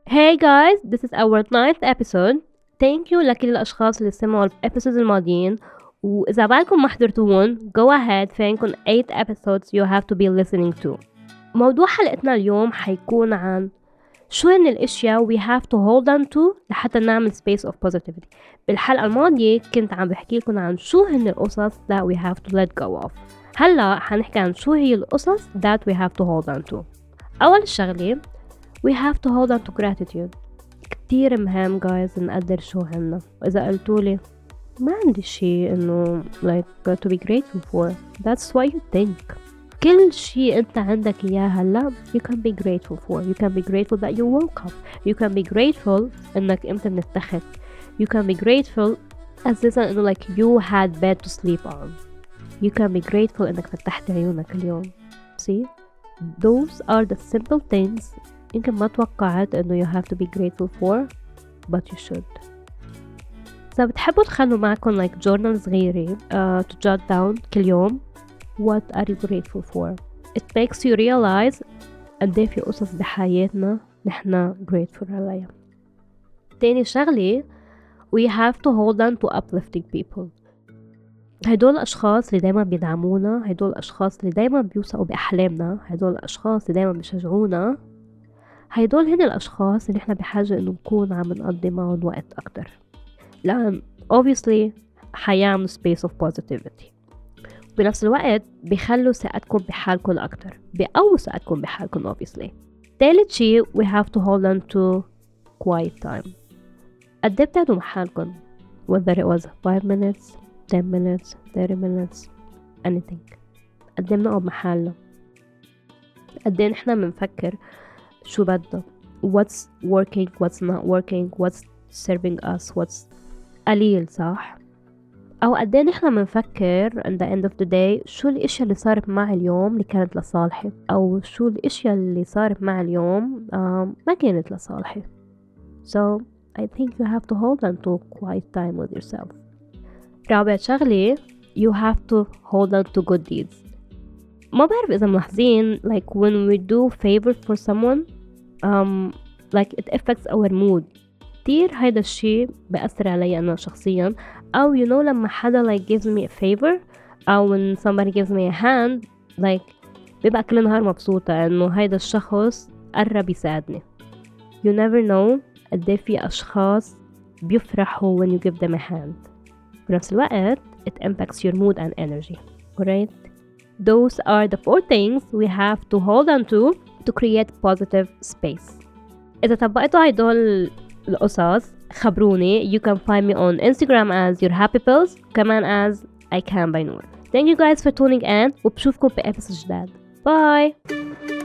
Hey guys, this is our 9th episode. Thank you لكل الأشخاص اللي سمعوا الابيسودز الماضيين، وإذا بالكم ما حضرتوهم go ahead، في عندكم 8 episodes you have to be listening to. موضوع حلقتنا اليوم حيكون عن شو هن الاشياء we have to hold on to لحتى نعمل space of positivity. بالحلقة الماضية كنت عم بحكي لكم عن شو هن القصص that we have to let go of. هلا حنحكي عن شو هي القصص that we have to hold on to. أول شغلة we have to hold on to gratitude. كتير مهم guys نقدر شو هنا. وإذا قلتولي ما عندي شي إنه like to be grateful for, that's why you think. كل شي أنت عندك إياه هلا you can be grateful for. You can be grateful that you woke up. You can be grateful إنك أنت منتخت. You can be grateful أساسا إنه like you had bed to sleep on. You can be grateful إنك فتحت عيونك اليوم. See? Those are the simple things يمكن ما توقعت إنه you have to be grateful for, but you should. إذا بتحبوا تخلوا معكم like journal صغيرة to jot down كل يوم what are you grateful for. It makes you realize قد ايه في قصص بحياتنا نحنا grateful عليها. تاني شغلة we have to hold on to uplifting people. هدول الأشخاص اللي دايما بيدعمونا، هدول الأشخاص اللي دايما بيوثقوا بأحلامنا، هدول الأشخاص اللي دايما بيشجعونا، هيدول هن الأشخاص اللي احنا بحاجة إنه نكون عم نقضي معهم وقت أكتر، لأن obviously حيعملوا space of positivity. بنفس الوقت بيخلوا ثقتكم بحالكم أكتر، بيقووا ثقتكم بحالكم obviously. تالت شي we have to hold on to quiet time. قد ايه بتقعدوا مع حالكم whether it was 5 minutes 10 minutes 30 minutes anything. قد ايه بنقعد مع حالنا، قد ايه نحنا منفكر شو بدنا what's working what's not working what's serving us what's قليل صح. أو قد ايه نحنا منفكر in the end of the day شو الاشياء اللي صارت معي اليوم اللي كانت لصالحي، أو شو الاشياء اللي صارت معي اليوم ما كانت لصالحي. So I think you have to hold on to quiet time with yourself. رابع شغلة you have to hold on to good deeds. ما بعرف إذا ملاحظين like when we do favor for someone like it affects our mood كتير. هيدا الشي بأثر علي أنا شخصيا. أو you know لما حدا like gives me a favor أو when somebody gives me a hand like بيبقى كل نهار مبسوطة إنه هيدا الشخص قرب يساعدني. You never know قد ايه في أشخاص بيفرحوا when you give them a hand. بنفس الوقت it impacts your mood and energy. Alright? Those are the 4 things we have to hold on to create positive space. إذا طبقتوا هيدول القصص خبروني. You can find me on Instagram as your happy pills كمان as I can by Noor. Thank you guys for tuning in وبشوفكم بإبسود جداد. Bye!